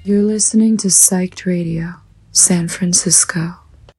You're listening to Psyched Radio, San Francisco.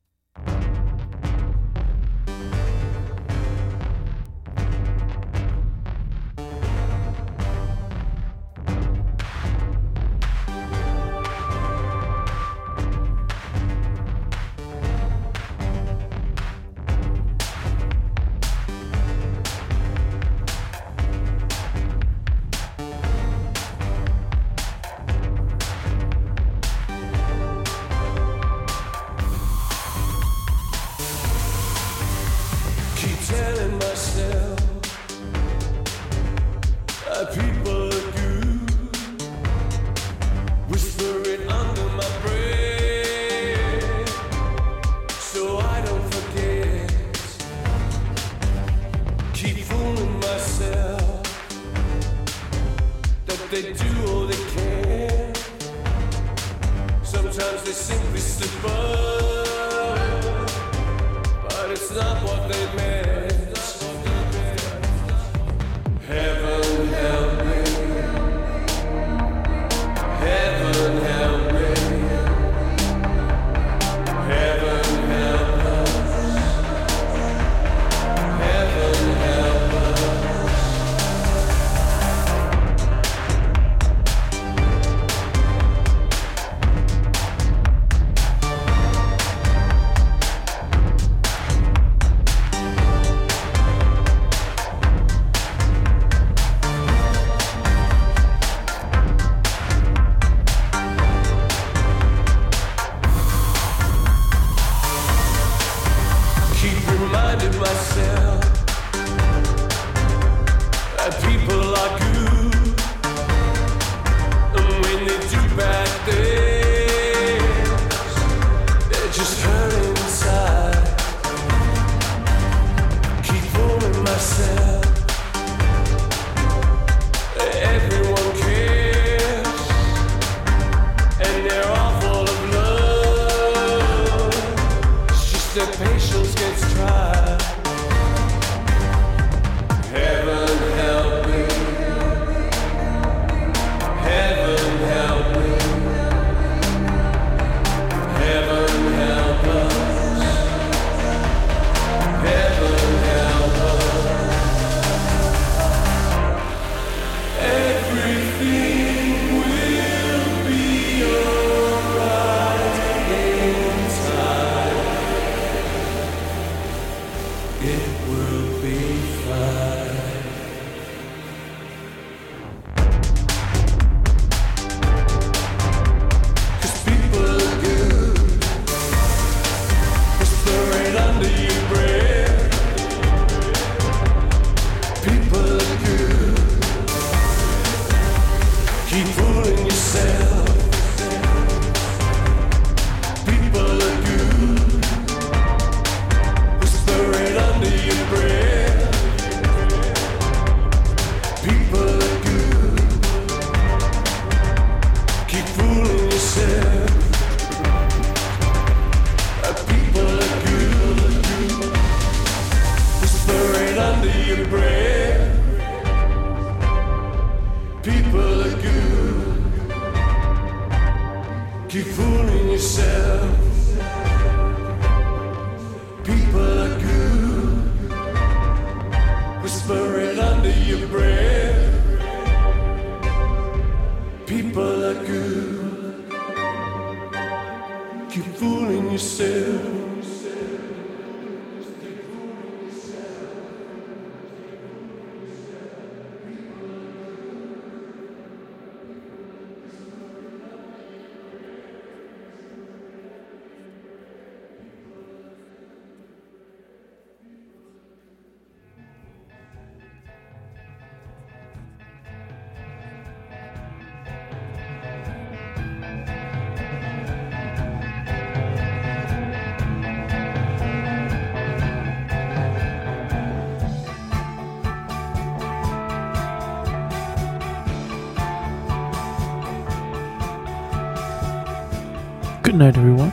Good night, everyone.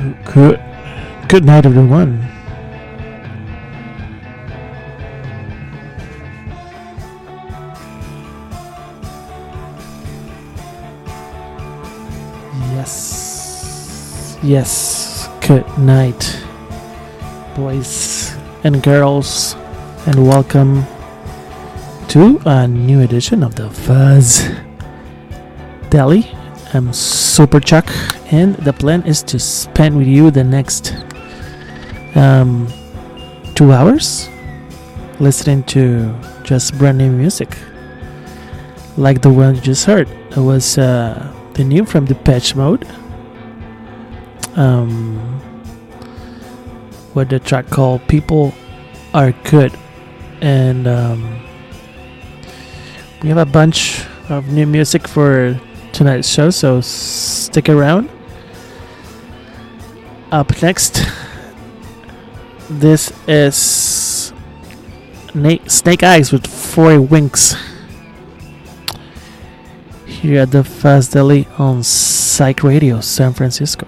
Good night, everyone. Yes. Good night, boys and girls, and welcome to a new edition of the Fuzz Daily. I'm Super Chuck, and the plan is to spend with you the next 2 hours listening to just brand new music, like the one you just heard. It was the new from Depeche Mode, with the track called "People Are Good," and we have a bunch of new music for tonight's show, so stick around. Up next, this is Snake Eyes with Four Winks here at the Fuzz Daily on Psych Radio San Francisco.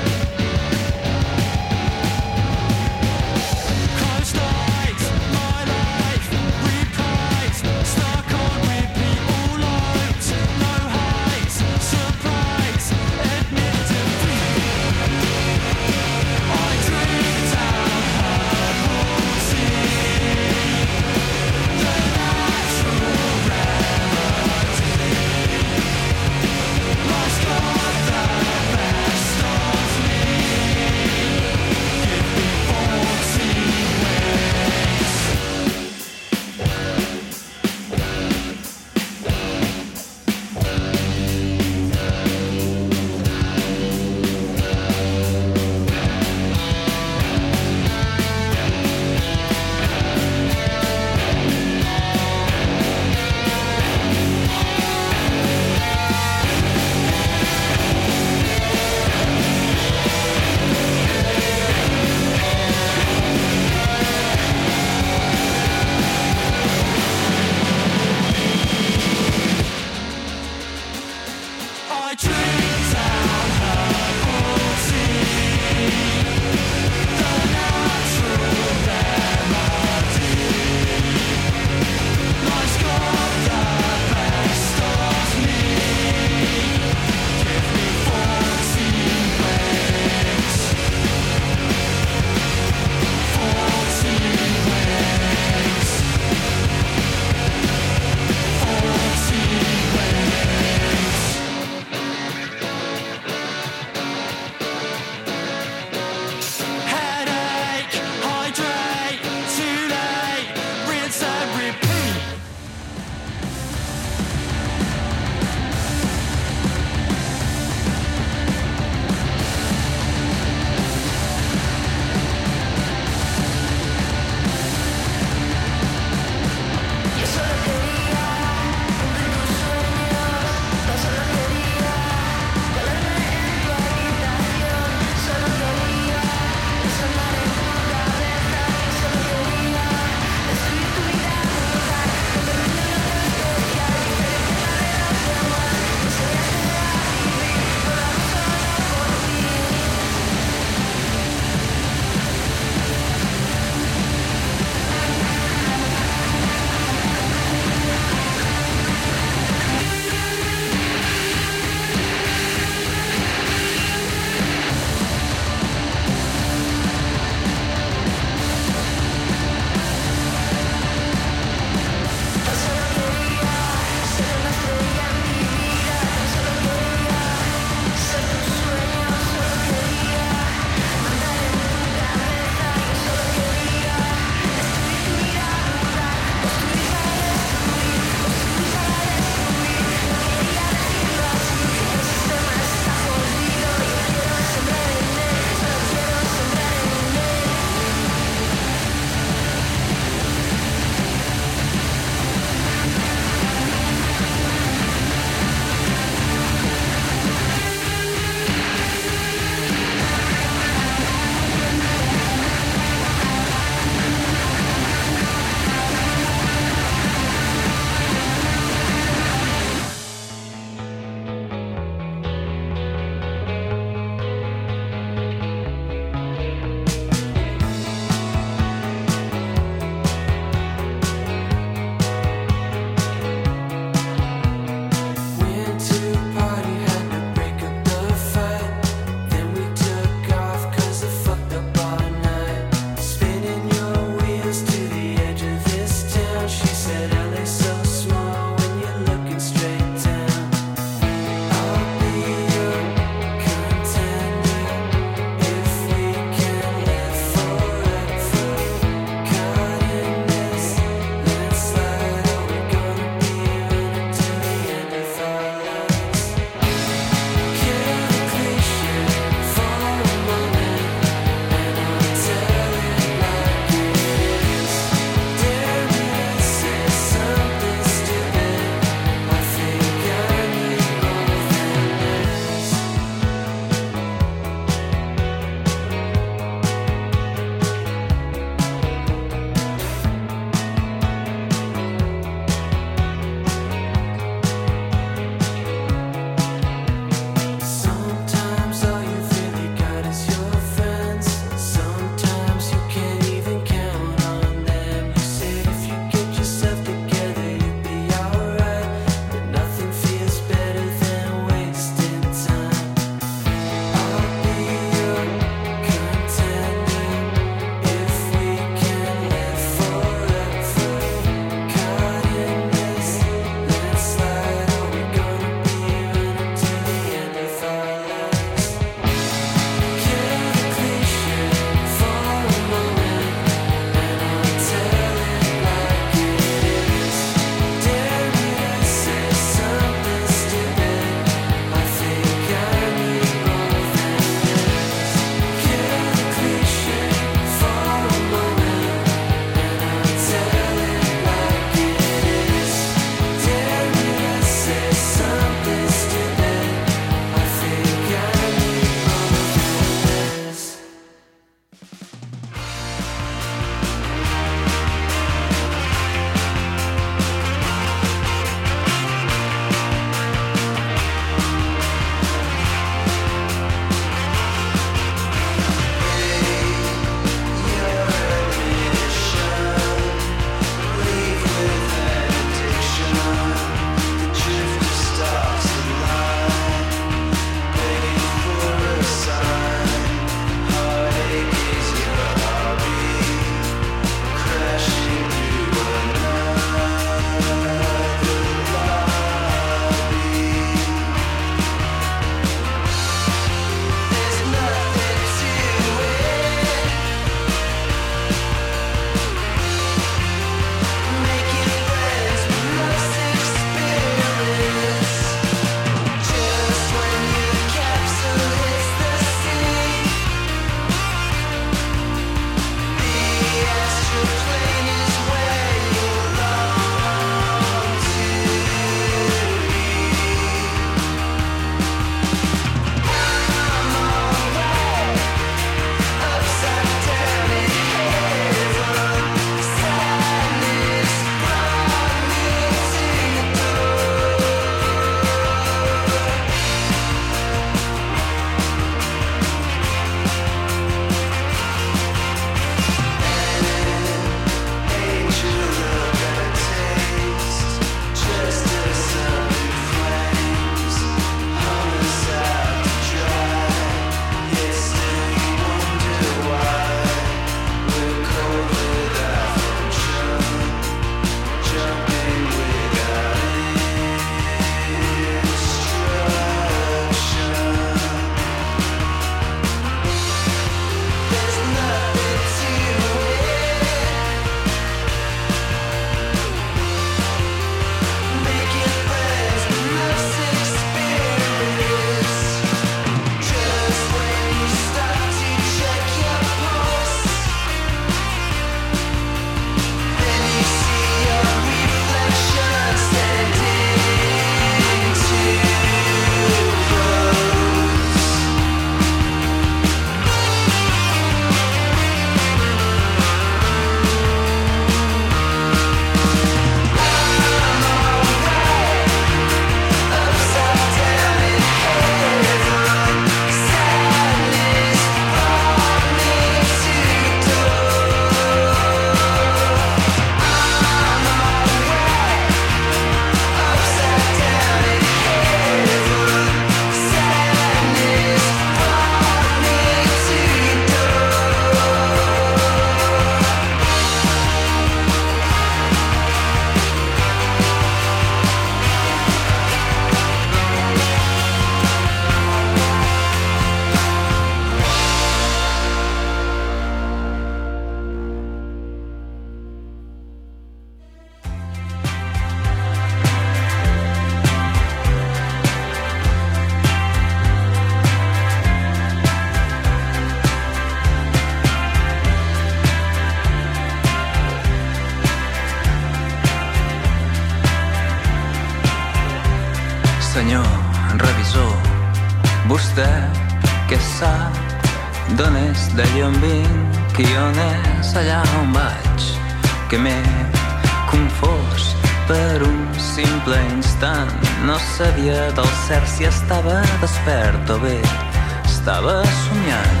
revisor. Vostè què sap d'on és, d'allà on vinc, qui on és, allà on vaig, que m'he confós per un simple instant. No sabia del cert si estava despert o bé estava somiant.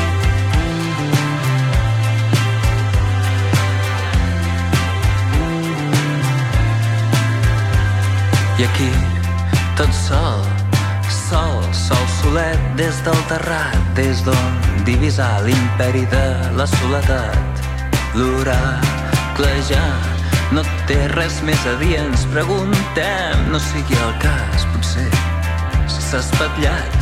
I aquí, tot sol, sol solet des del terrat, des d'on divisar l'imperi de la soledat. L'oracle ja no té res més a dir, ens preguntem, no sigui el cas, potser s'ha espatllat.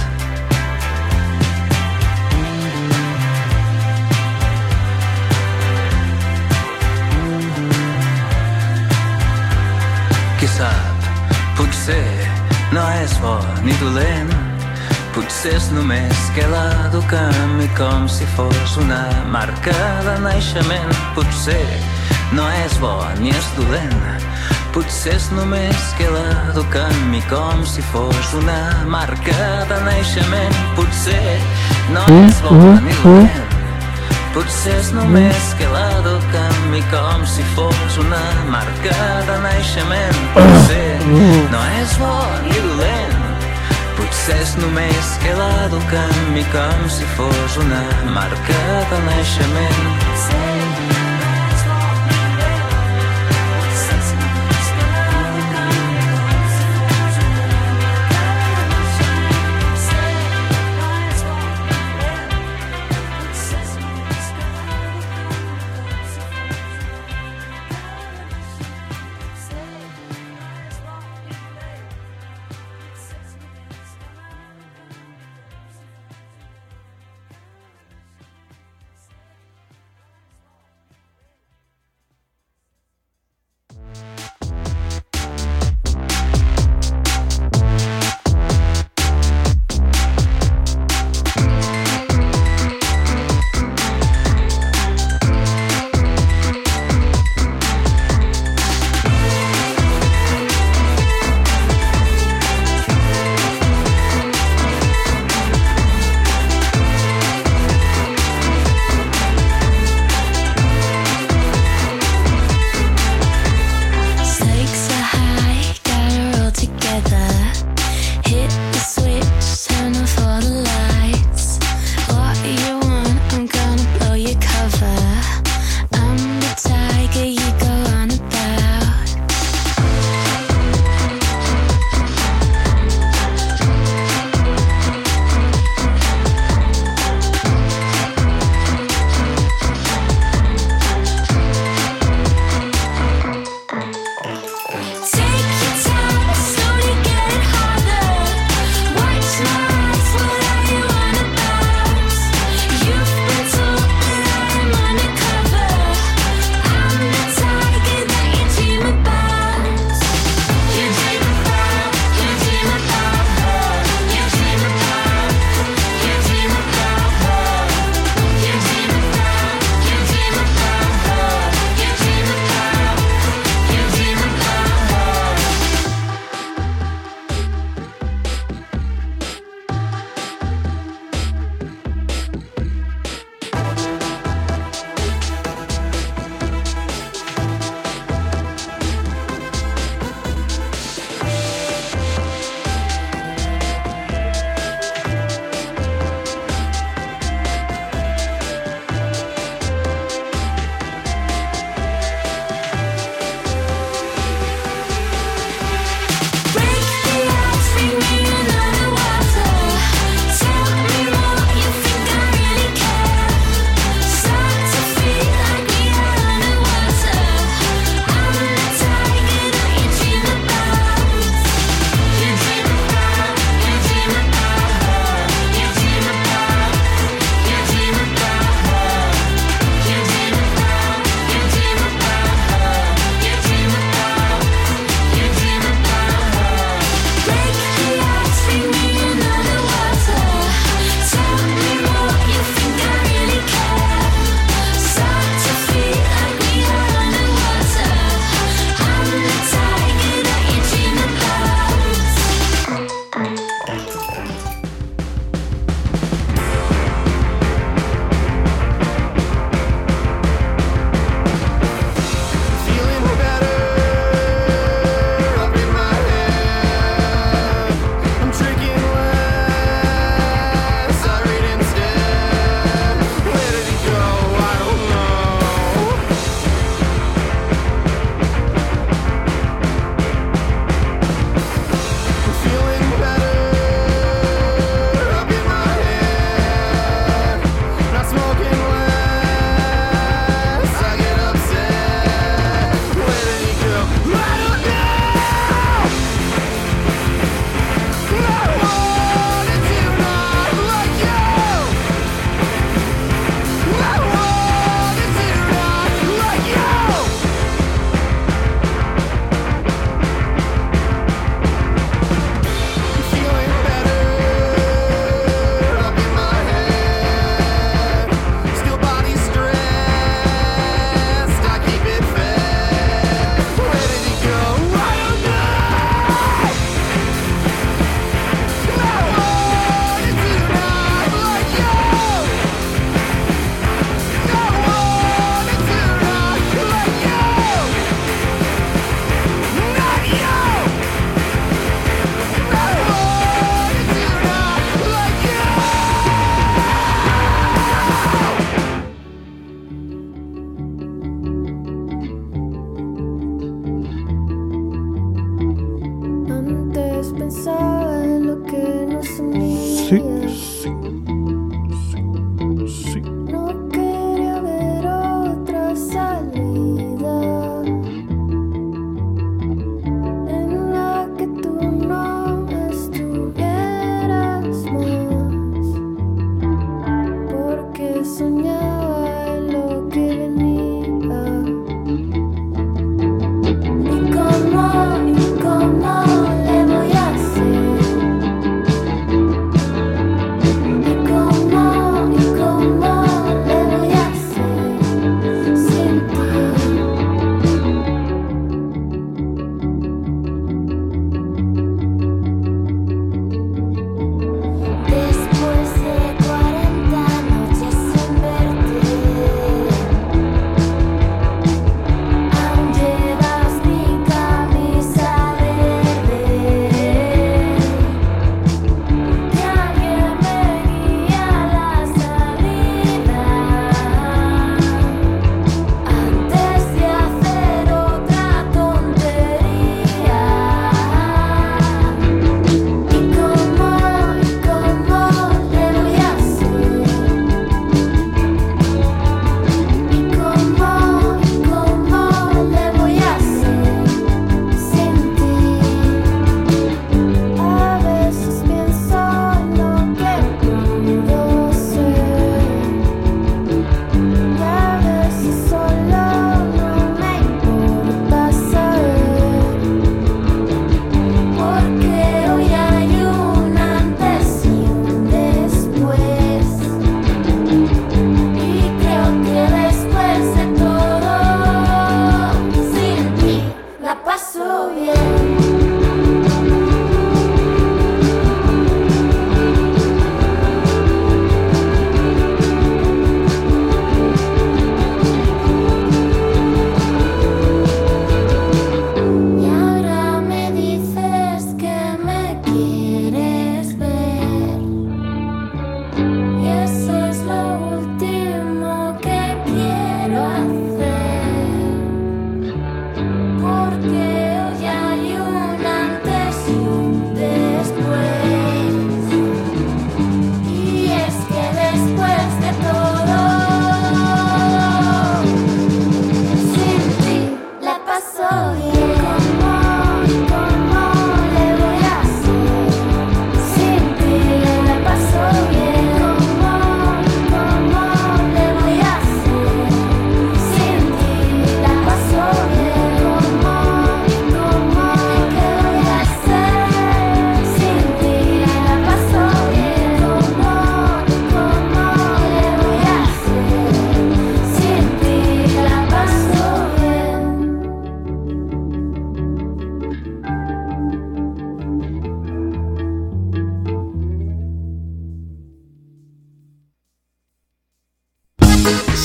Qui sap, potser no és bo ni dolent, potser és només que l'eduquem i com si fos una marca de naixement. Potser no és bo ni és dolent, potser és només que l'eduquem i com si fos una marca de naixement. Potser no és bo ni dolent, potser és només que l'eduquem i com si fos una marca de naixement. Potser no és bo ni dolent, potser és només que l'eduquem i com si fos una marca de naixement.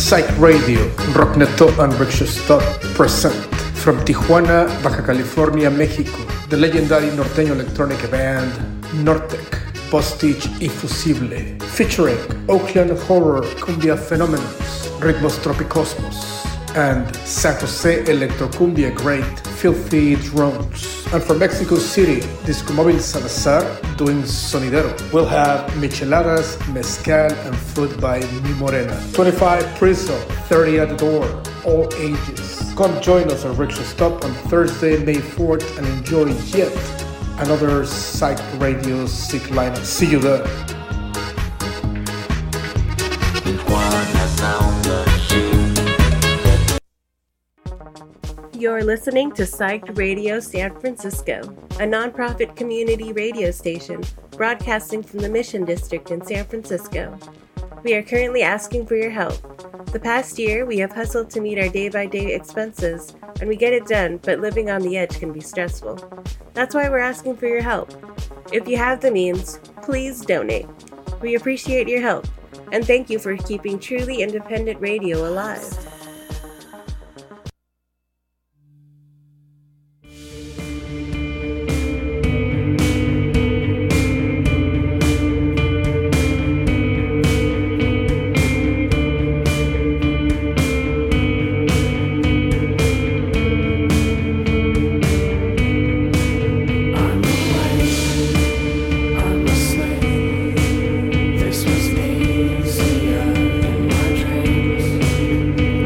Psych Radio, Rockneto and Rickshaw Stop present from Tijuana, Baja California, Mexico, the legendary norteño electronic band Nortec, Postage y Fusible, featuring Oakland Horror Cumbia Phenomenons, Ritmos Tropicosmos, and San Jose Electrocumbia great Filthy Drones. And from Mexico City, Disco Móvil Salazar doing Sonidero. We'll have micheladas, mezcal, and food by Mi Morena. 25 Priso, 30 at the door, all ages. Come join us at Rickshaw Stop on Thursday, May 4th, and enjoy yet another Psych Radio sick lineup. See you there. You're listening to Psyched Radio San Francisco, a nonprofit community radio station broadcasting from the Mission District in San Francisco. We are currently asking for your help. The past year, we have hustled to meet our day-by-day expenses, and we get it done, but living on the edge can be stressful. That's why we're asking for your help. If you have the means, please donate. We appreciate your help, and thank you for keeping truly independent radio alive. This was easier in my dreams.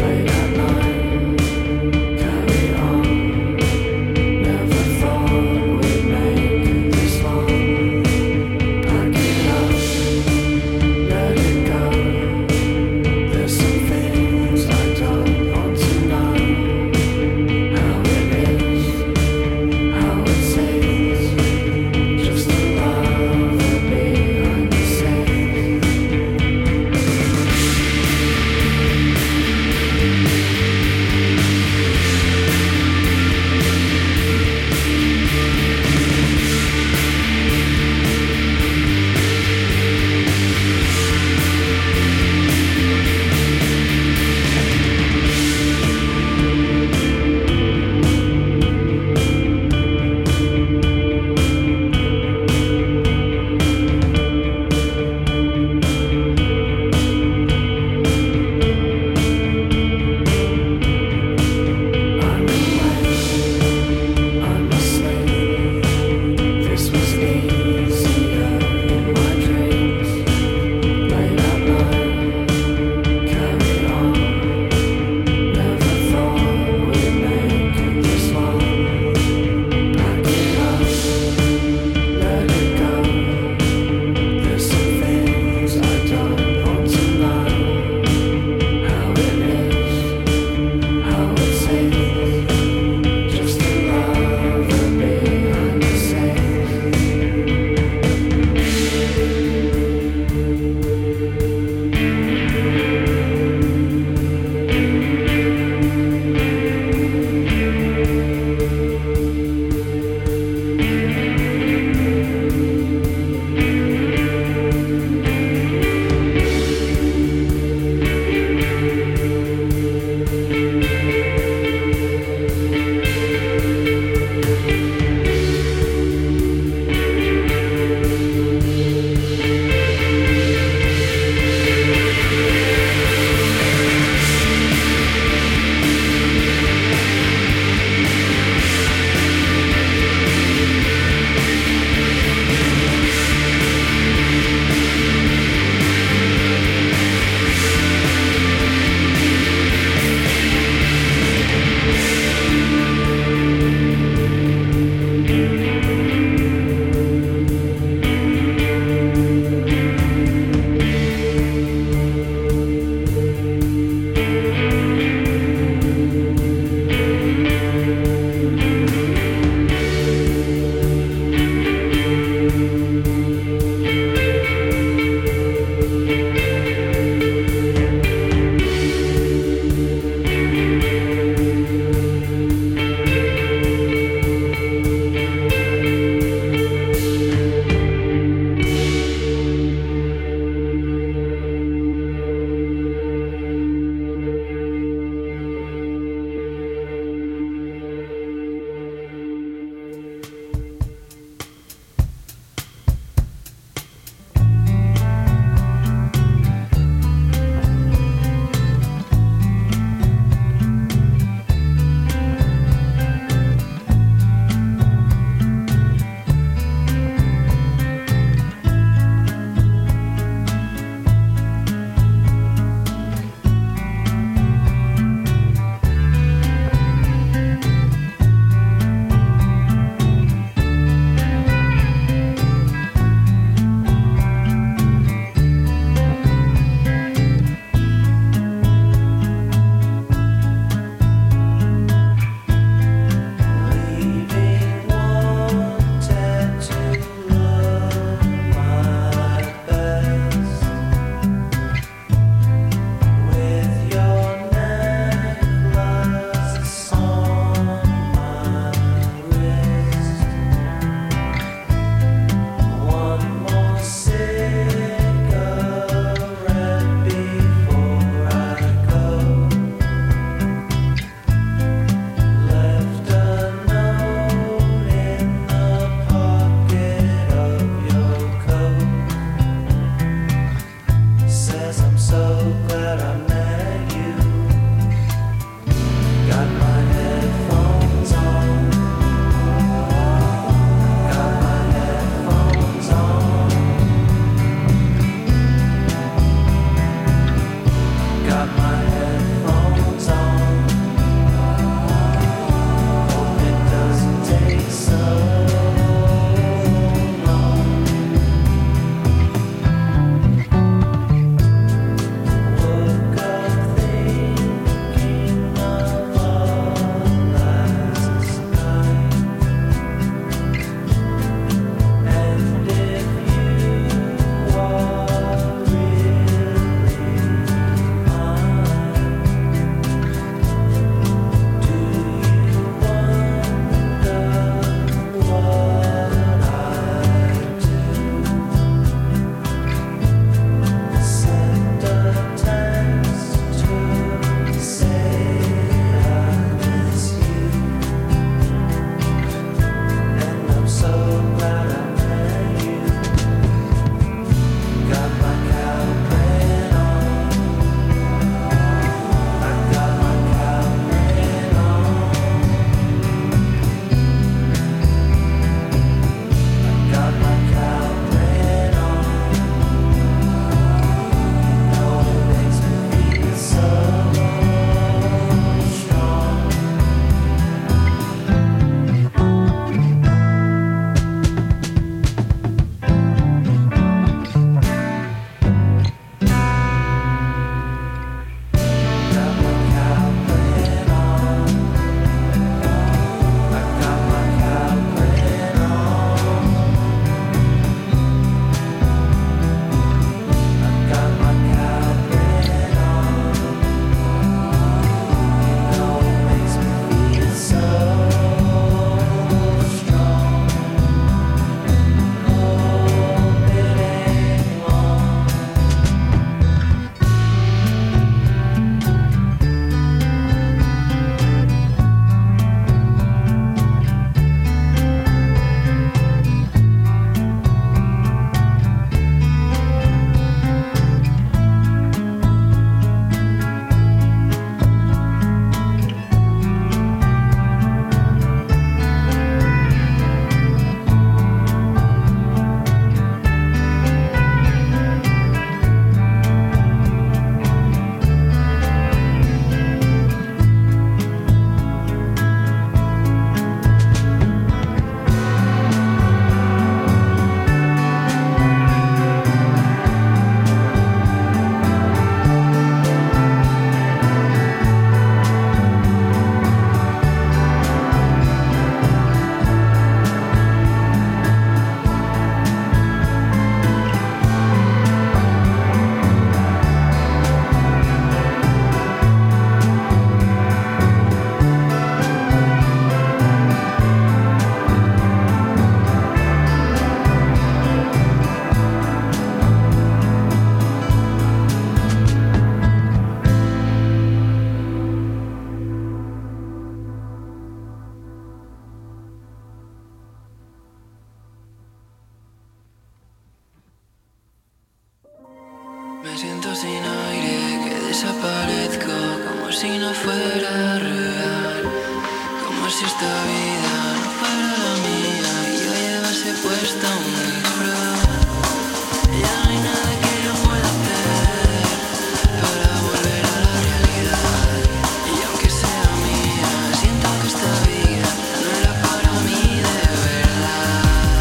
Me siento sin aire, que desaparezco, como si no fuera real, como si esta vida no fuera la mía y yo llevase puesta un disfraz. Ya no hay nada que yo pueda hacer para volver a la realidad, y aunque sea mía, siento que esta vida no era para mí de verdad.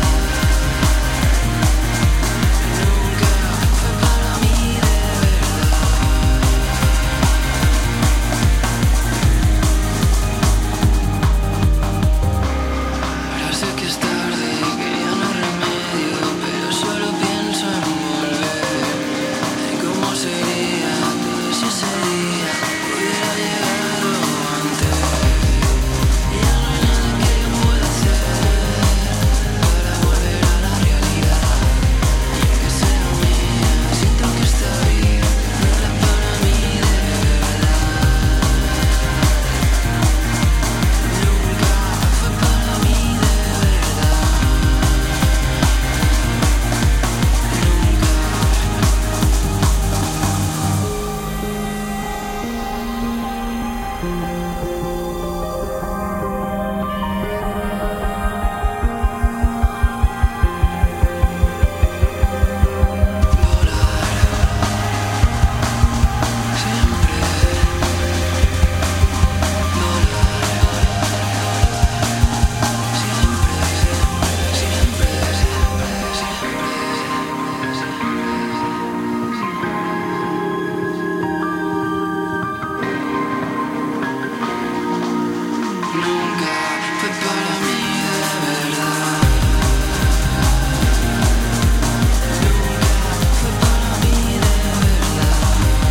Nunca fue para mí de verdad. Ahora sé que es tarde, que ya no hay remedio, pero solo pienso en volver, en cómo sería todo si ese día hubiera llegado antes. Ya no hay nada que yo pueda hacer para volver a la realidad, y aunque sea mía, siento que esta vida no era para mí de verdad. Nunca fue para mí de verdad. Nunca fue para mí de verdad. Nunca fue para mí de verdad.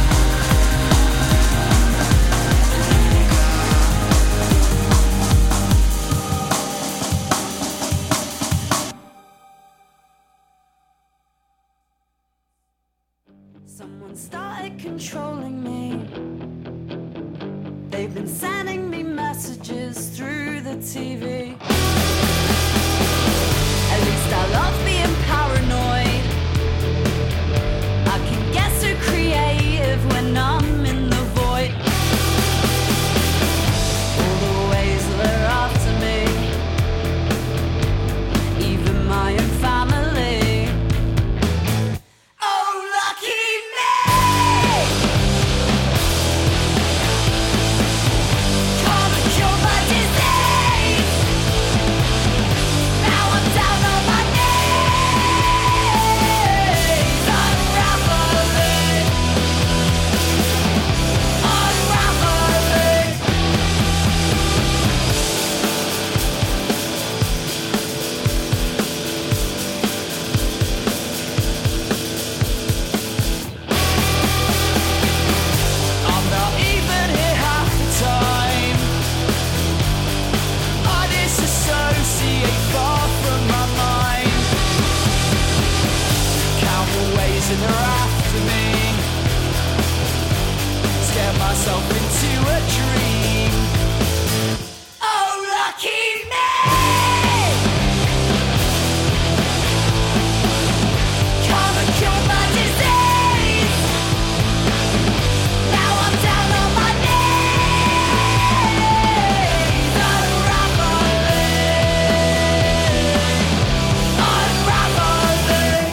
Someone started controlling me. They've been sending me messages through the TV. At least I love being paranoid. I can get so creative when I'm in the void. All the ways they're after me, even my own family. Oh, lucky me! Come and cure my disease. Now I'm down on my knees, unraveling, unraveling. I'm not even here half the time. I disassociate far from my mind. Count the ways that they're after me. Scare myself into a dream. Oh, lucky me! Come and cure my disease. Now I'm down on my knees, unraveling, unraveling.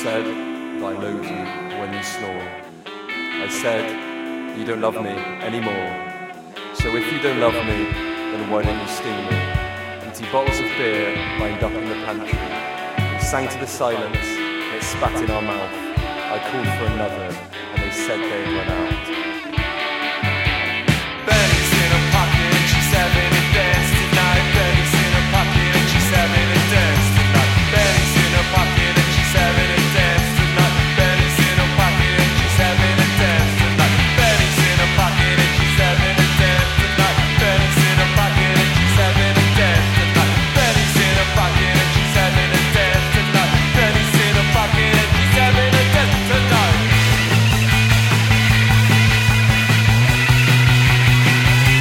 said that I loathe you when you snore. I said you don't love me anymore. So if you don't love me, then why don't you steal me? Empty bottles of beer lined up in the pantry. We sang to the silence, and it spat in our mouth. I called for another, and they said they'd run out. Benny's in her pocket, and she's having a dance tonight. Benny's in her pocket, and she's having a dance tonight. Benny's in her pocket, and she's having a dance tonight. Benny's in her pocket, and she's having a dance tonight. Benny's in her pocket, and she's having a dance tonight. Benny's in her pocket, and she's having a dance tonight. Benny's in her pocket, and she's having a dance tonight. Benny's in her pocket, and she's having a dance tonight.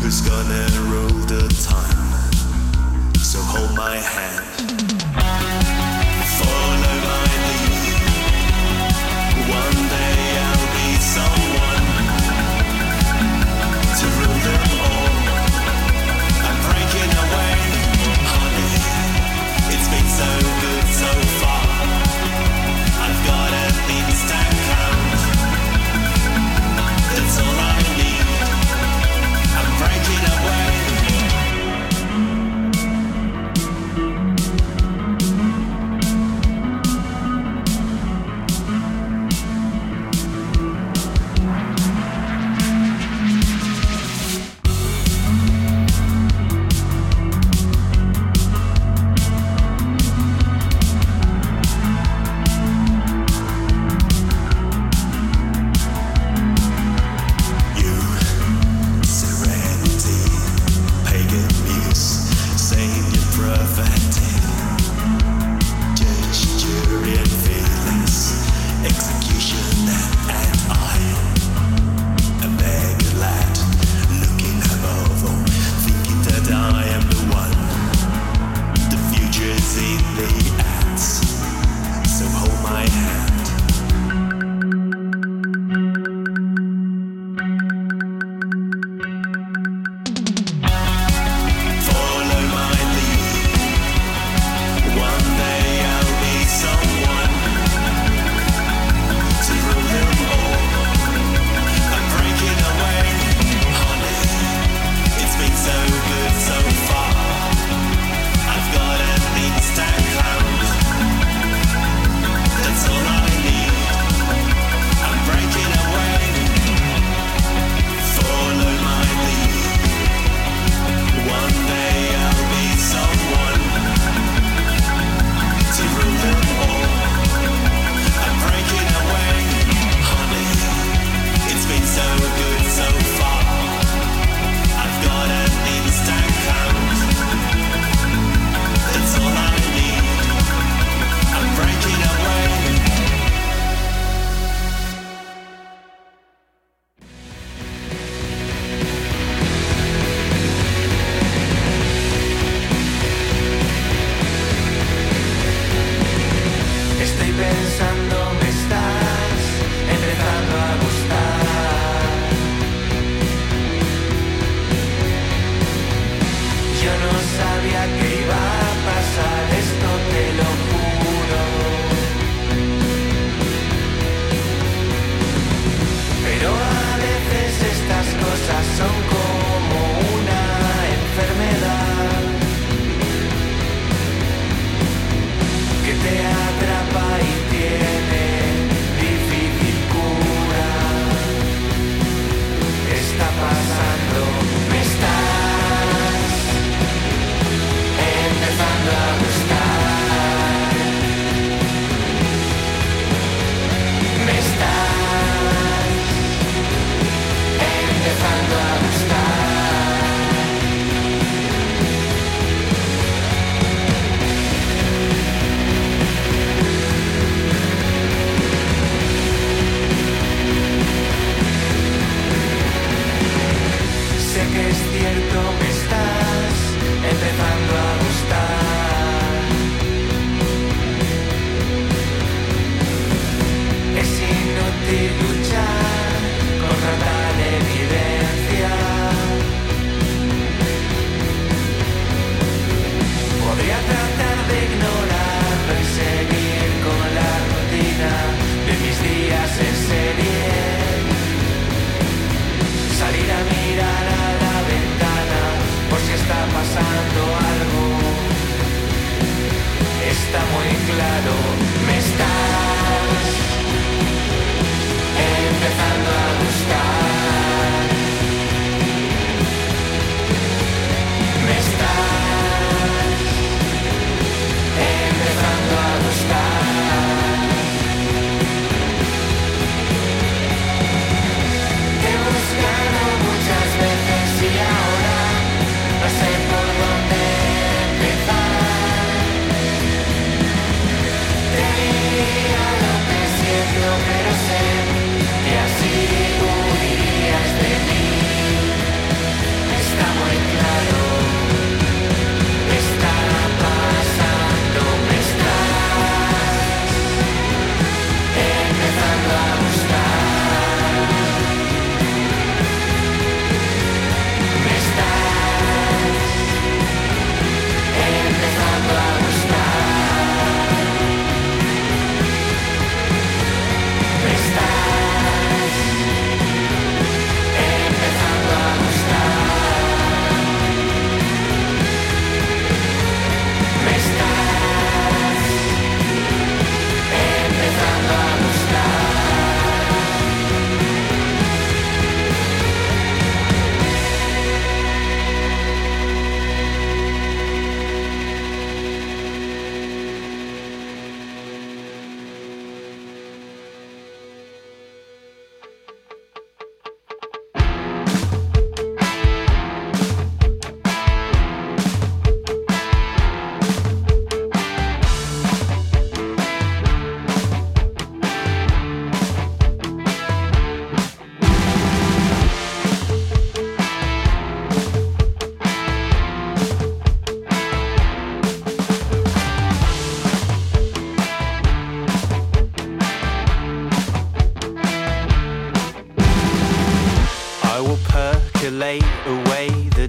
who's gonna rule the time. So hold my hand, follow my lead. One day I'll be someone to rule them all. I'm breaking away, honey. It's been so good so far. I've got a instant count. That's all I need. I'm breaking away.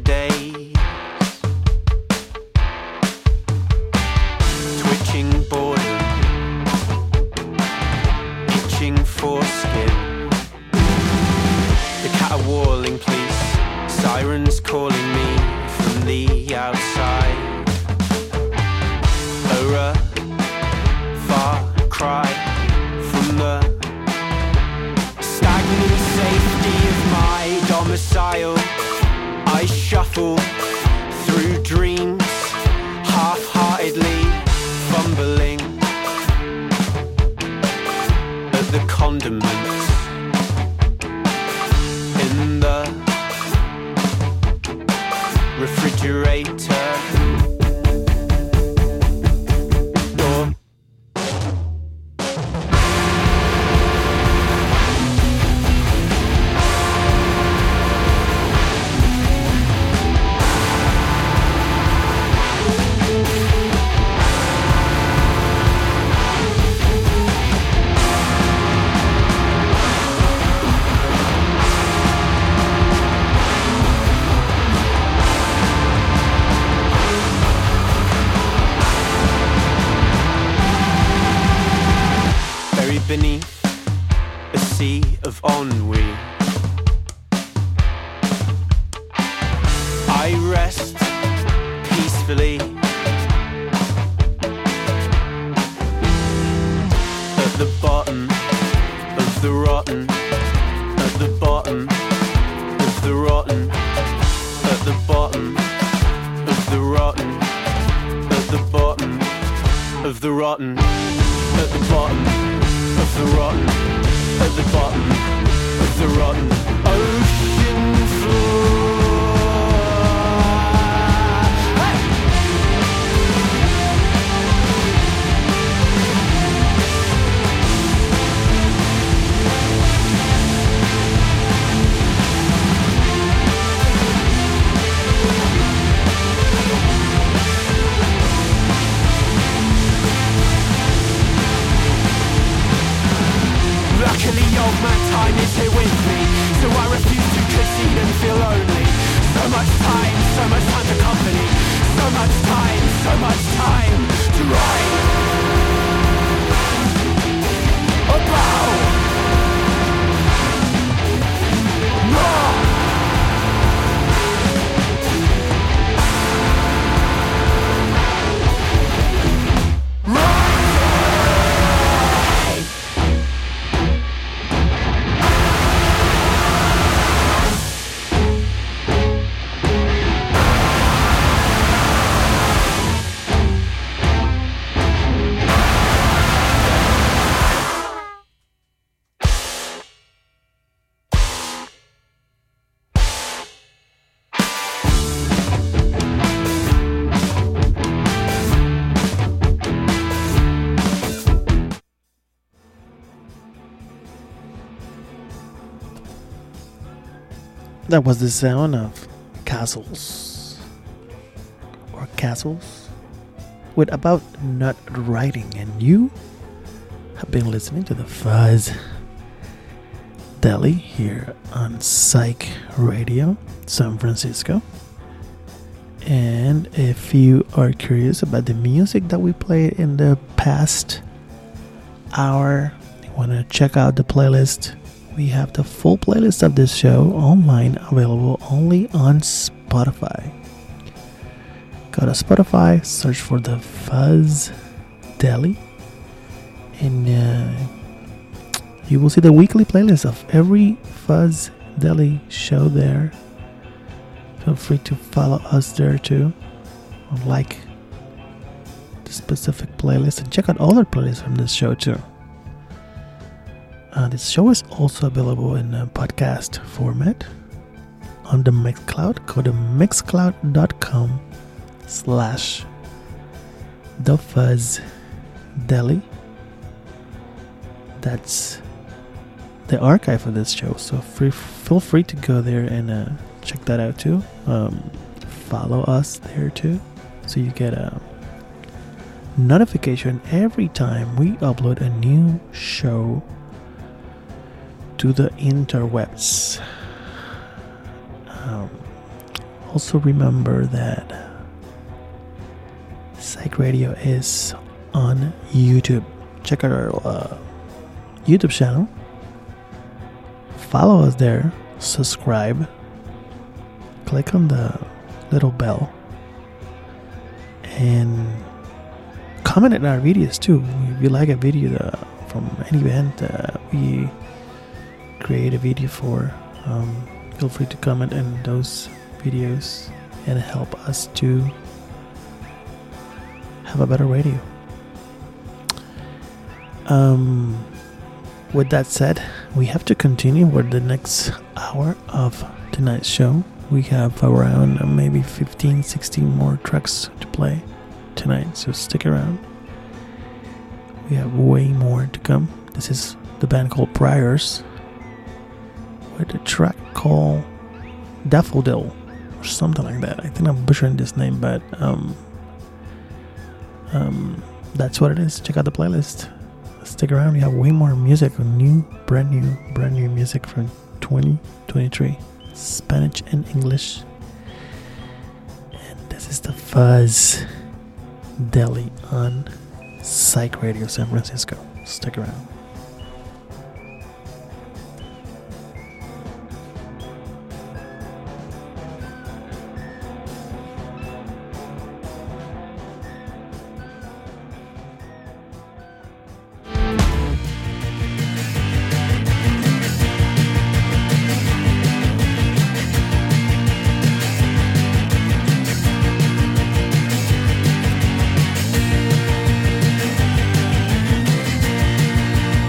days. Twitching boredom, itching foreskin. The caterwauling police, sirens calling me from the outside. A far cry from the stagnant safety of my domicile. I shuffle through dreams, half-heartedly fumbling at the condiments in the refrigerator door. Beneath a sea of ennui, I rest peacefully at the bottom of the rotten, at the bottom of the rotten, at the bottom of the rotten, at the bottom of the rotten, at the bottom of the rotten, at the bottom of the rotten ocean floor. Hey! Luckily old man time is here with me, so I refuse to concede and feel lonely. So much time to company. So much time to write about more. That was the sound of Castles, or Castles, with About Not Writing, and you have been listening to the Fuzz Deli here on Psych Radio, San Francisco. And if you are curious about the music that we played in the past hour, you want to check out the playlist, we have the full playlist of this show online, available only on Spotify. Go to Spotify, search for the Fuzz Deli, and you will see the weekly playlist of every Fuzz Deli show there. Feel free to follow us there too, or like the specific playlist, and check out other playlists from this show too. This show is also available in a podcast format on the Mixcloud. Go to mixcloud.com/TheFuzzDeli. That's the archive of this show, so feel free to go there and check that out too. Follow us there too, so you get a notification every time we upload a new show to the interwebs. Also remember that Psych Radio is on YouTube. Check out our YouTube channel. Follow us there. Subscribe. Click on the little bell. And comment on our videos too. If you like a video from any band we create a video for, feel free to comment on those videos and help us to have a better radio. With that said, we have to continue with the next hour of tonight's show. We have around maybe 15, 16 more tracks to play tonight, so stick around. We have way more to come. This is the band called Priors with a track called Daffodil or something like that. I think I'm butchering this name, but that's what it is. Check out the playlist. Stick around. We have way more music, brand new music from 2023, Spanish and English. And this is the Fuzz Deli on Psych Radio San Francisco. Stick around. Thank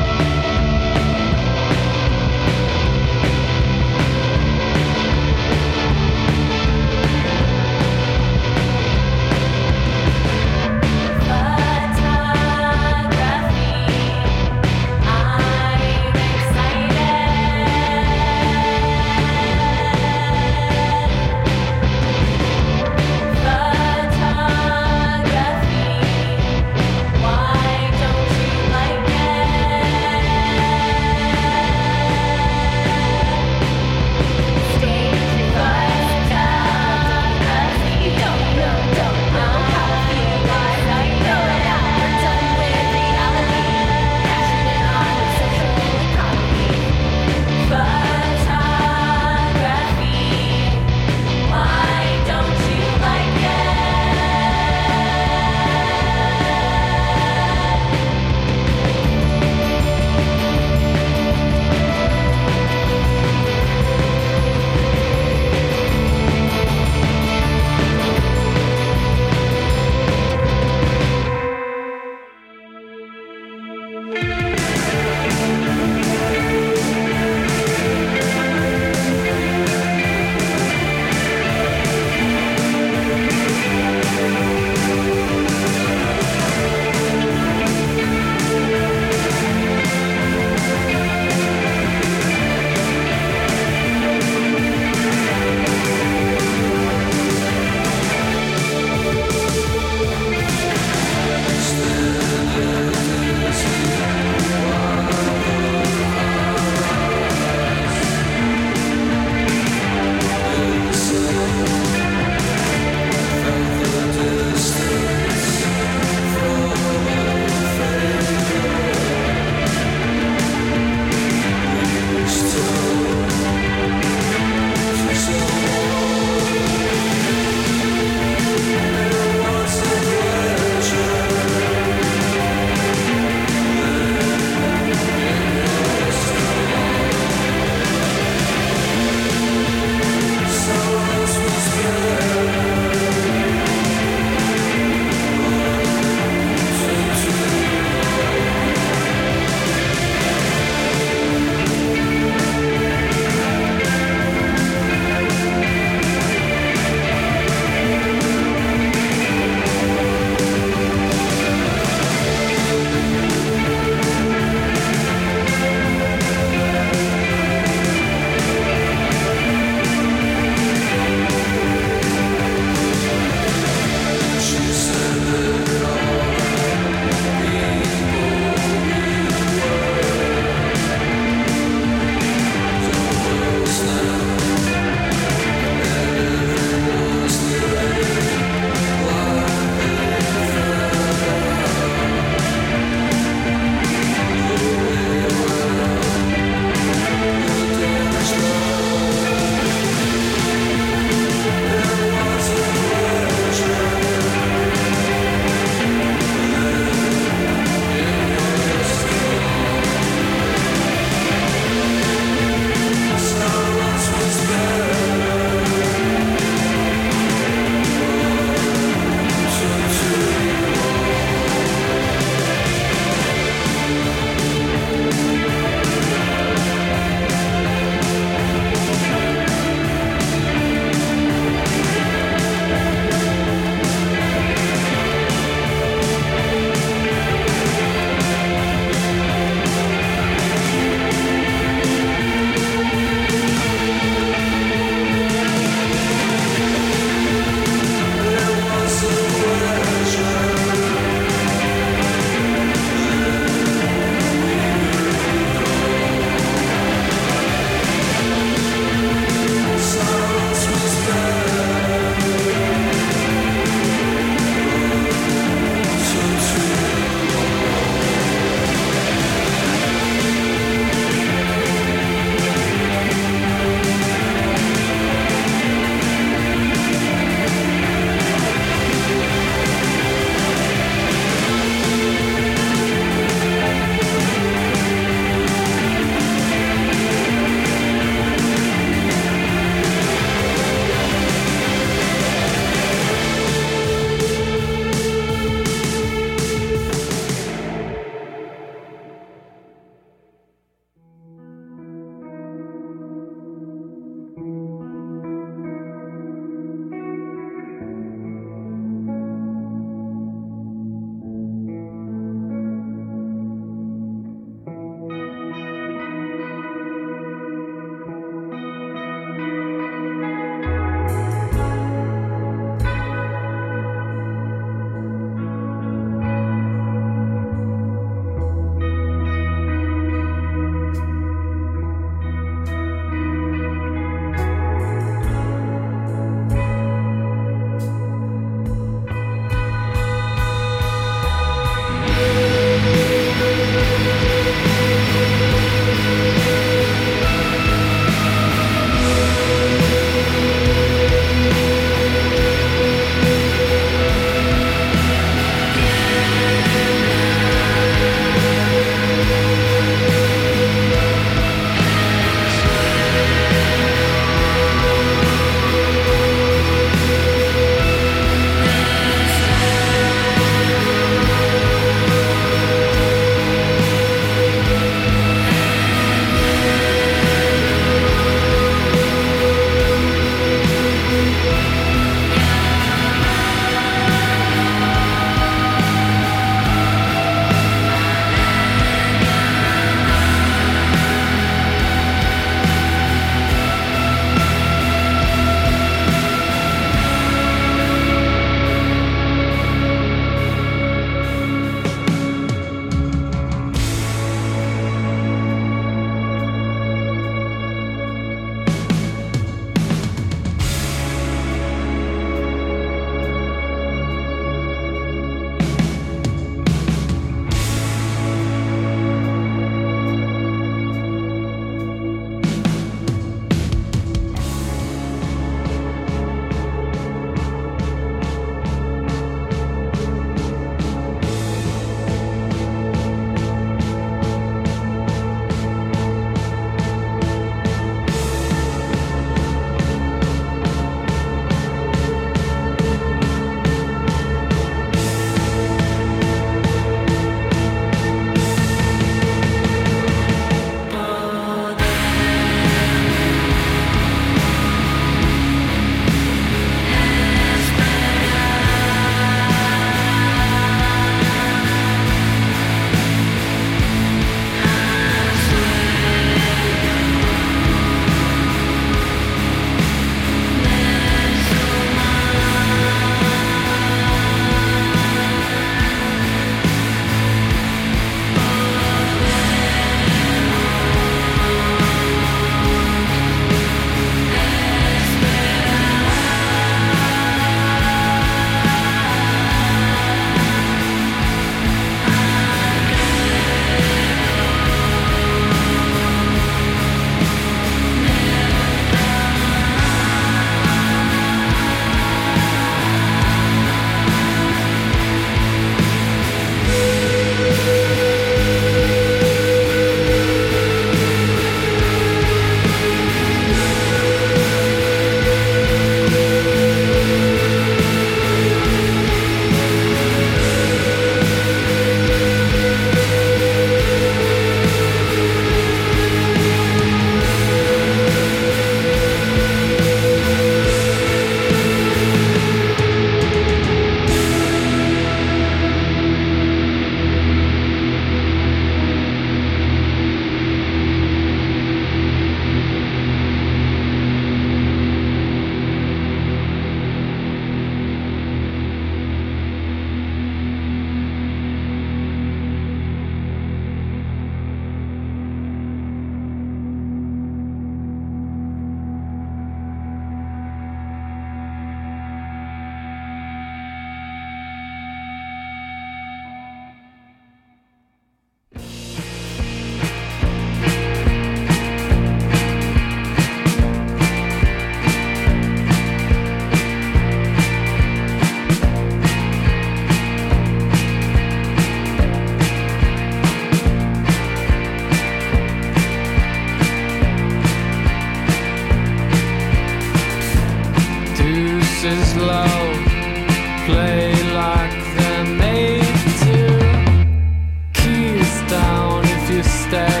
voices low, play like they're made to. Keys down if you stay.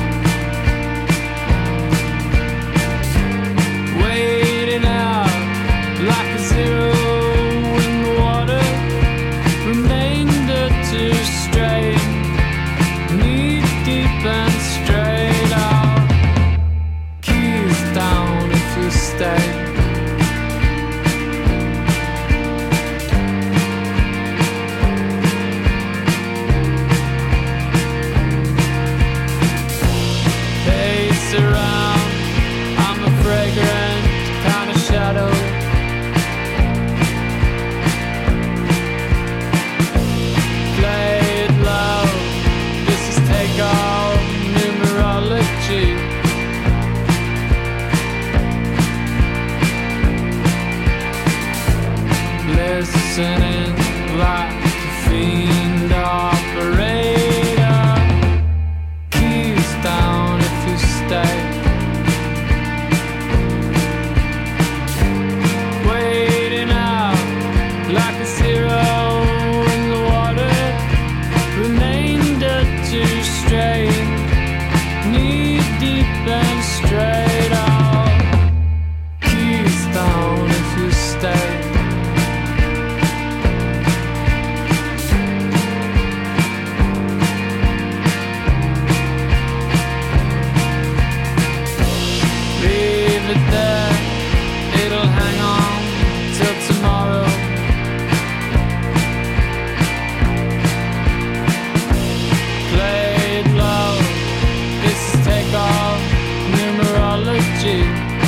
Waiting out like a zero in the water. Remainder to stray, knee deep and straight out. Keys down if you stay. Pace around, I'm a fragrant kind of shadow. Play it low, this is takeoff numerology. Listening like a fiend operator. Keys down if you stay. Waiting out like a zero in the water. Remainder to stray, knee deep and straight out. Keys down if you stay. Leave it there, it'll hang on till tomorrow. Play it low, this is takeoff numerology.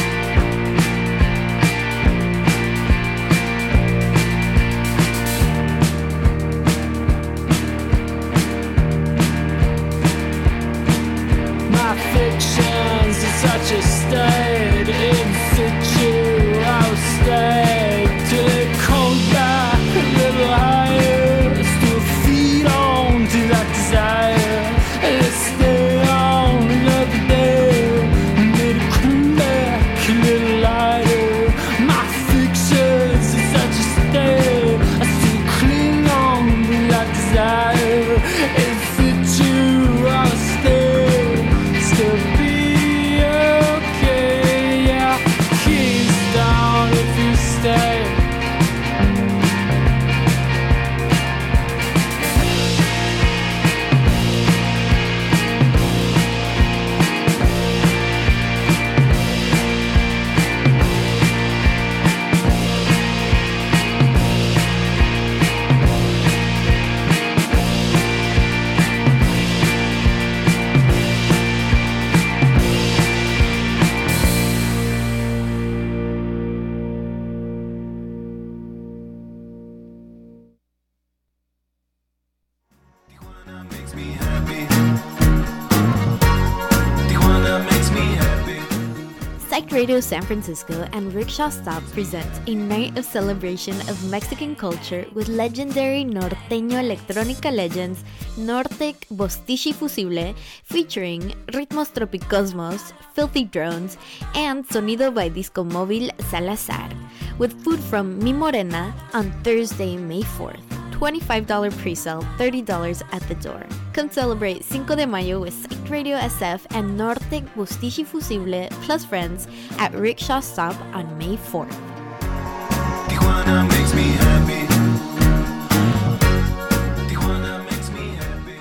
My fictions in such a state, in situ, I'll stay till it comes back a little higher. Still feed on to that desire. Let's stay on another day. Let it come back a little lighter. My fictions in such a state, I still cling on to that desire. In situ, I'll stay. Still be okay, yeah. Keys down if you stay. Tijuana makes me happy. Tijuana makes me happy. Psyched Radio San Francisco and Rickshaw Stop present a night of celebration of Mexican culture with legendary norteño electrónica legends Nortec Bostichi Fusible, featuring Ritmos Tropicosmos, Filthy Drones, and Sonido by Disco Móvil Salazar, with food from Mi Morena on Thursday, May 4th. $25 pre-sale, $30 at the door. Come celebrate Cinco de Mayo with Psyched Radio SF and Nortec Bostichi Fusible plus friends at Rickshaw Stop on May 4th. Tijuana makes me happy. Tijuana makes me happy.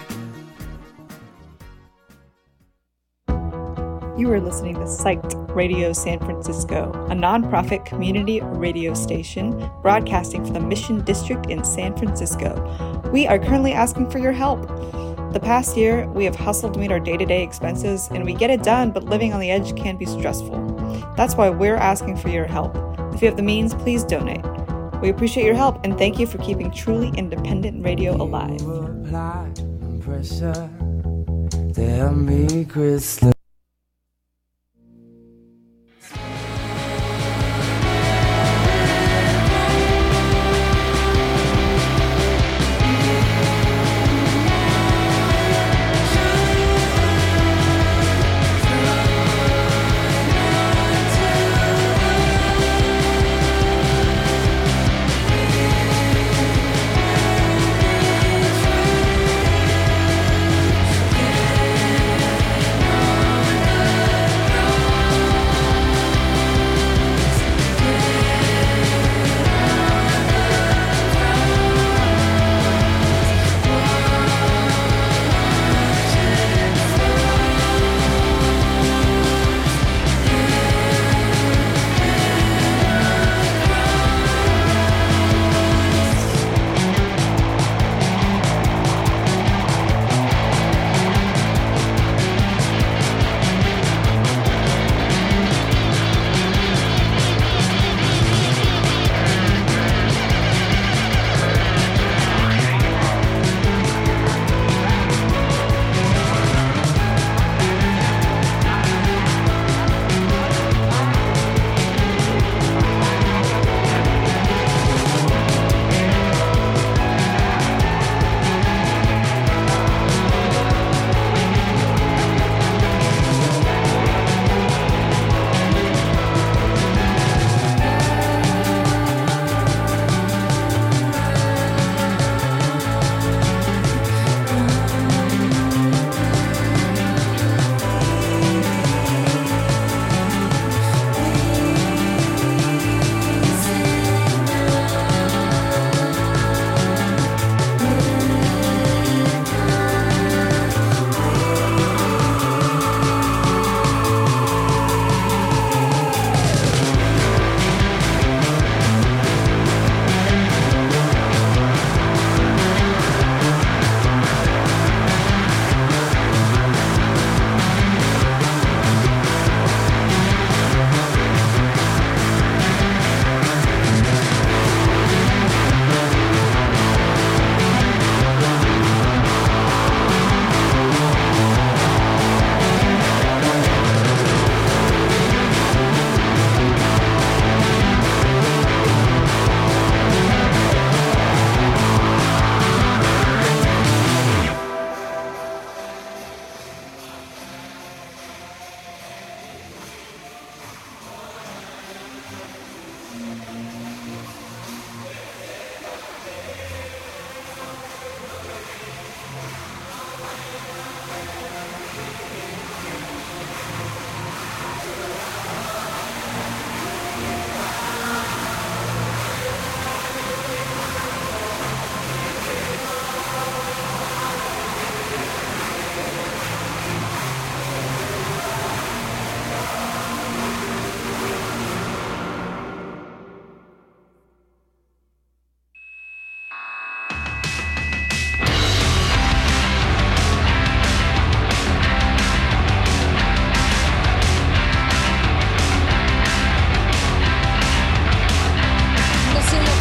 You are listening to Psyched Radio San Francisco, a nonprofit community radio station broadcasting from the Mission District in San Francisco. We are currently asking for your help. The past year, we have hustled to meet our day-to-day expenses, and we get it done, but living on the edge can be stressful. That's why we're asking for your help. If you have the means, please donate. We appreciate your help, and thank you for keeping truly independent radio alive. Apply pressure to help me crystal.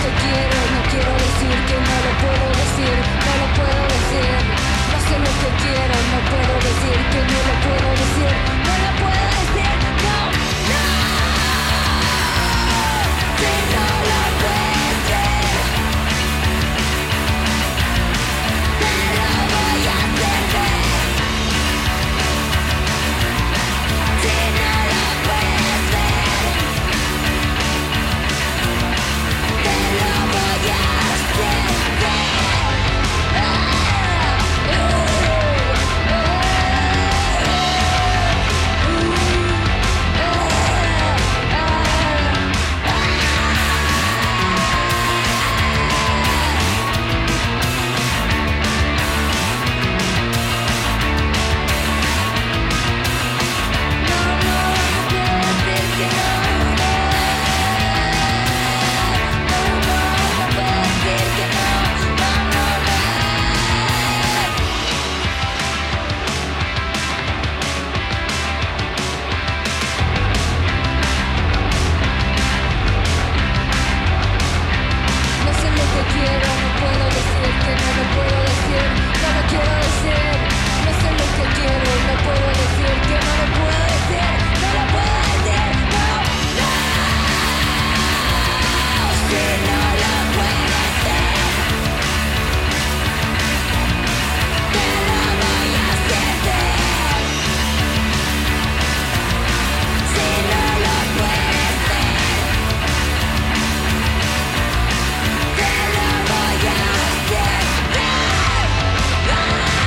que quiero, no quiero decir que no lo puedo decir, no lo puedo decir. No sé lo que quiero, no puedo decir que no lo puedo decir, no lo puedo decir, no, no. Si no lo puedes ver, te lo voy a hacer ver. Si no lo puedes ver, te lo voy a hacer ver. No sé lo que quiero, no puedo decir que no lo puedo decir, no lo quiero decir. No sé lo que quiero, no puedo decir que no lo puedo decir, no lo puedo decir, no, no. Si no lo puedes hacer, te lo voy a hacer ver. Si no lo puedes hacer, te lo voy a hacer ver.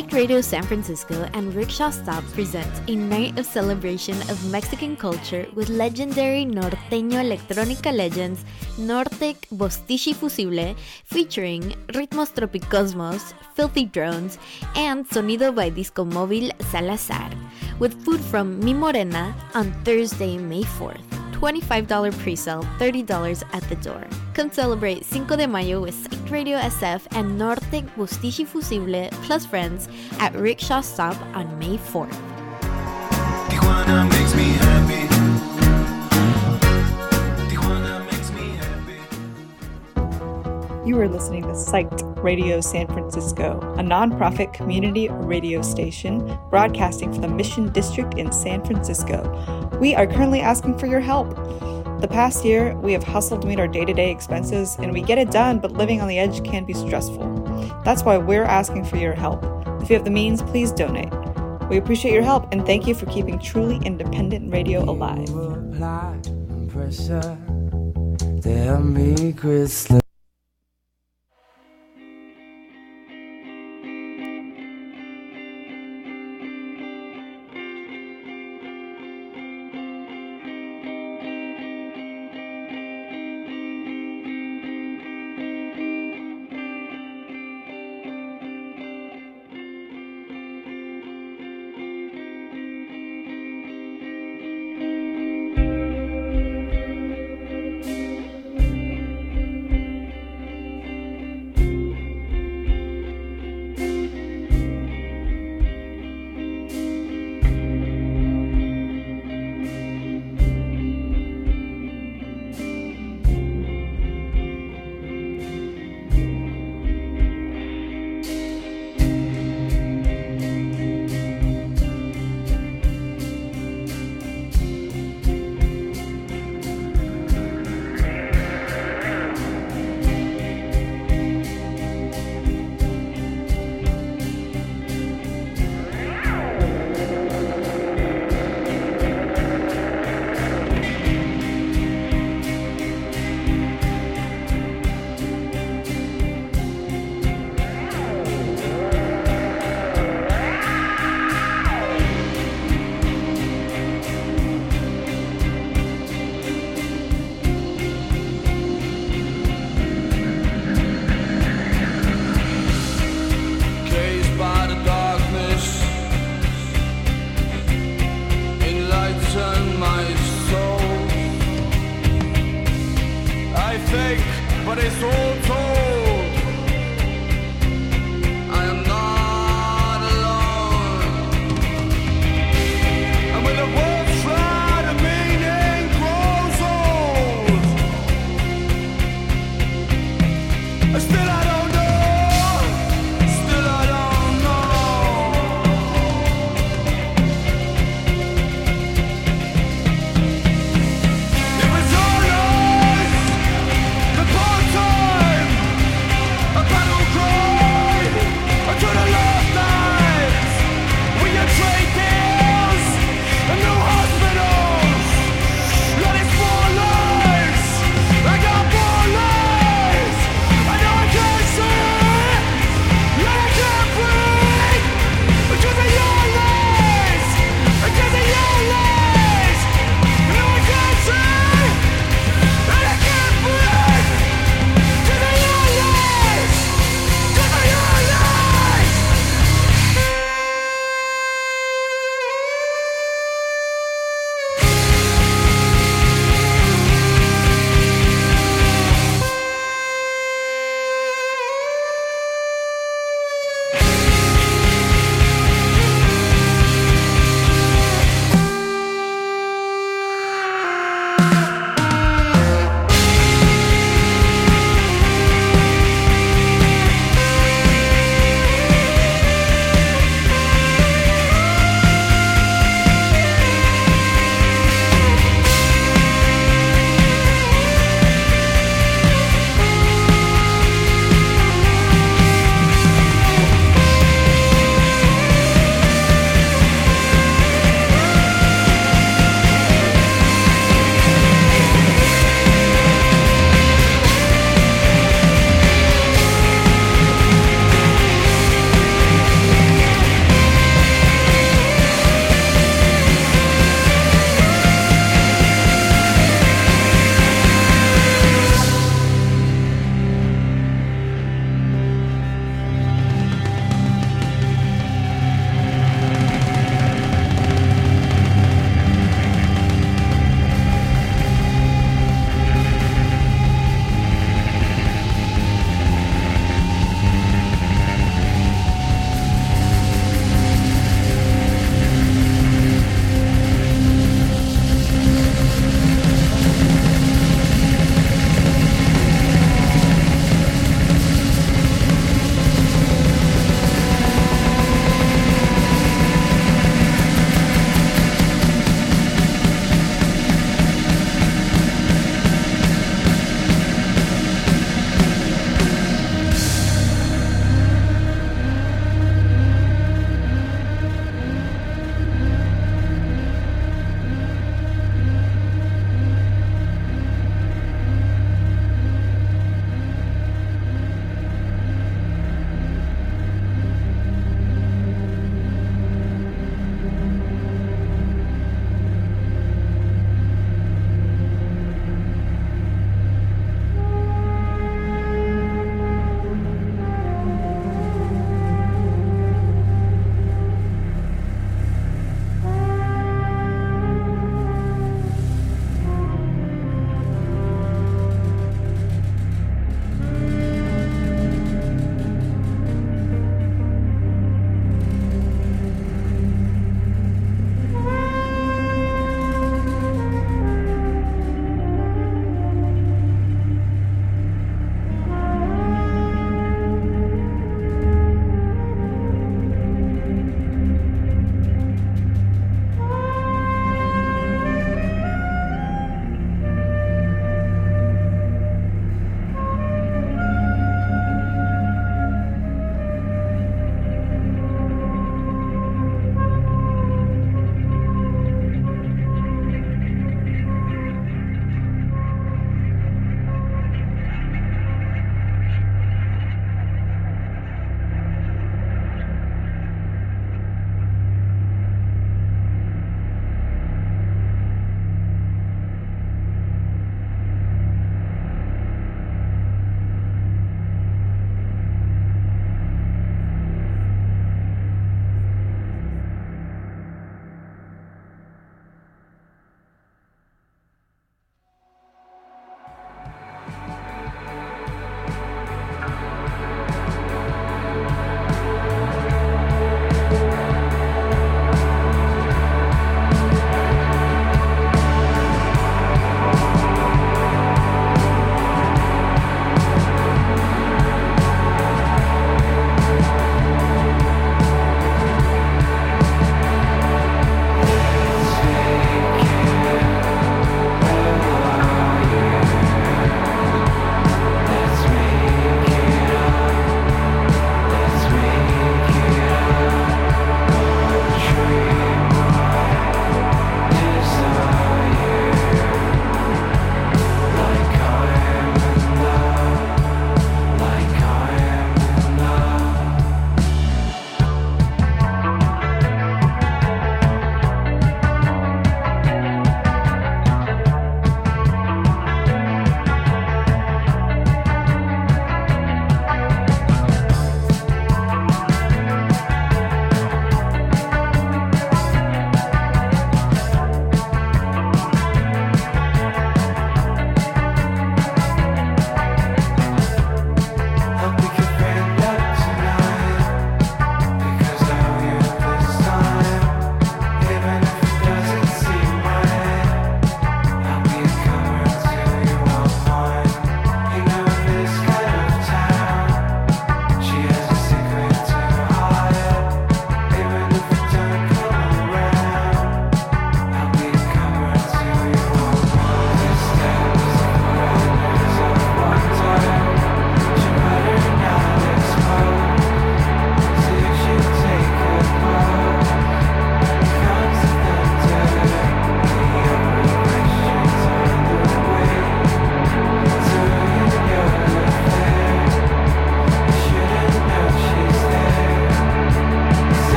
Psyched Radio San Francisco and Rickshaw Stop present a night of celebration of Mexican culture with legendary norteño electrónica legends Nortec, Bostichi Fusible, featuring Ritmos Tropicosmos, Filthy Drones, and Sonido by Disco Móvil Salazar, with food from Mi Morena on Thursday, May 4th. $25 pre-sale, $30 at the door. Come celebrate Cinco de Mayo with Psyched Radio SF and Nortec Bostichi Fusible plus friends at Rickshaw Stop on May 4th. Tijuana makes me happy. Tijuana makes me happy. You are listening to Psyched Radio San Francisco, a nonprofit community radio station broadcasting from the Mission District in San Francisco. We are currently asking for your help. The past year, we have hustled to meet our day-to-day expenses, and we get it done, but living on the edge can be stressful. That's why we're asking for your help. If you have the means, please donate. We appreciate your help, and thank you for keeping truly independent radio alive. Pressure, tell me, Chris.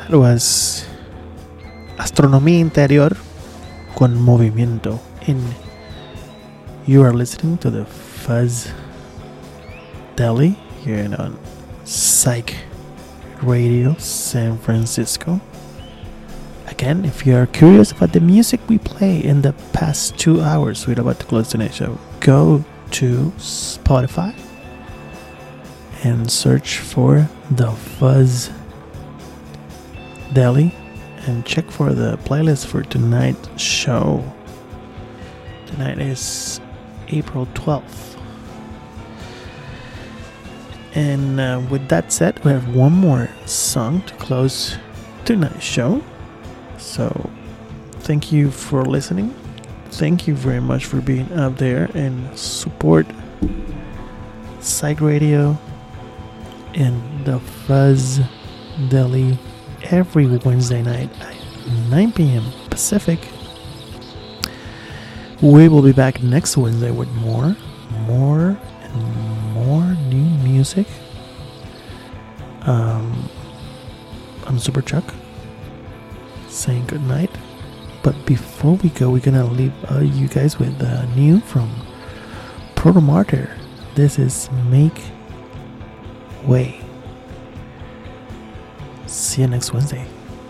That was Astronomía Interior con movimiento. And you are listening to the Fuzz Deli here on Psych Radio San Francisco. Again, if you are curious about the music we play in the past 2 hours, we're about to close tonight's show. Go to Spotify and search for the Fuzz Deli and check for the playlist for tonight's show. Tonight is April 12th. And with that said, we have one more song to close tonight's show. So, thank you for listening. Thank you very much for being up there and support Psych Radio and the Fuzz Deli every Wednesday night at 9 p.m. Pacific. We will be back next Wednesday with more new music. I'm Super Chuck saying good night. But before we go, we're gonna leave you guys with new from Proto Martyr. This is Make Way. See you next Wednesday.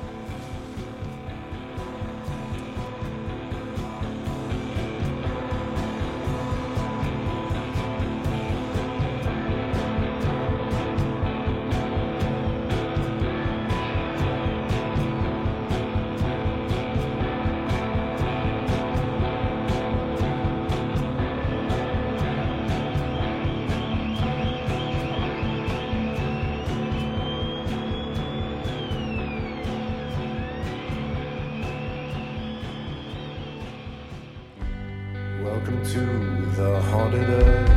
Welcome to the haunted earth,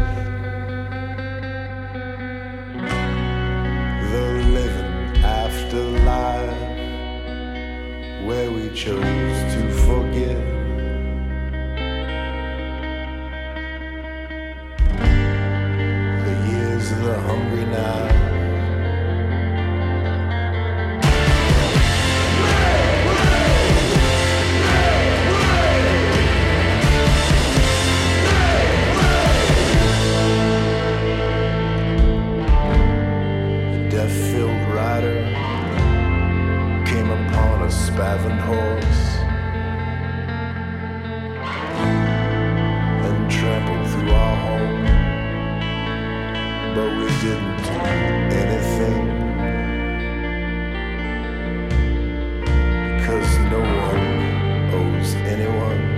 the living afterlife, where we chose to forgive. The years of the hungry night. Spavined horse and trampled through our home, but we didn't do anything because no one owes anyone.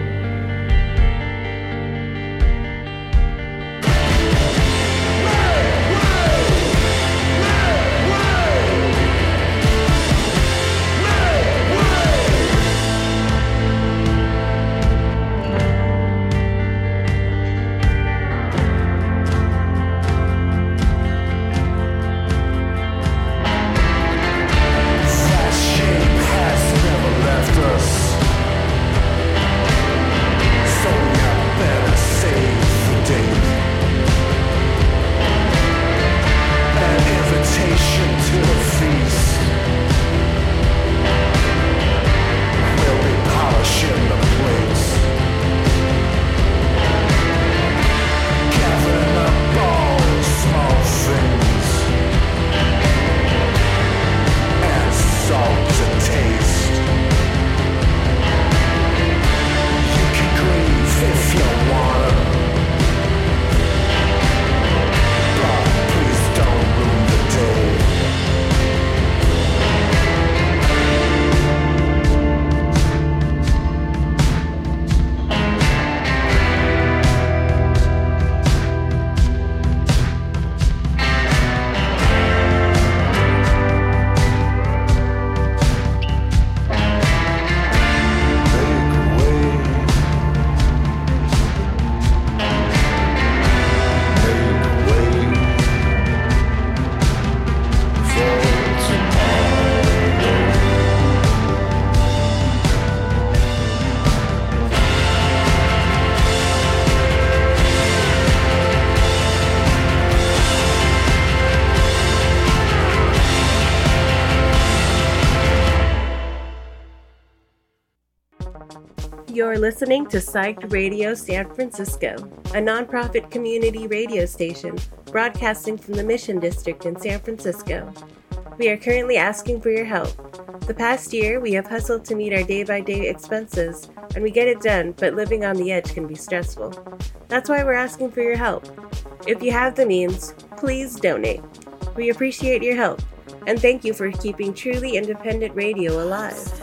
are listening to Psyched Radio San Francisco, a nonprofit community radio station broadcasting from the Mission District in San Francisco. We are currently asking for your help. The past year, we have hustled to meet our day-by-day expenses, and we get it done, but living on the edge can be stressful. That's why we're asking for your help. If you have the means, please donate. We appreciate your help, and thank you for keeping truly independent radio alive.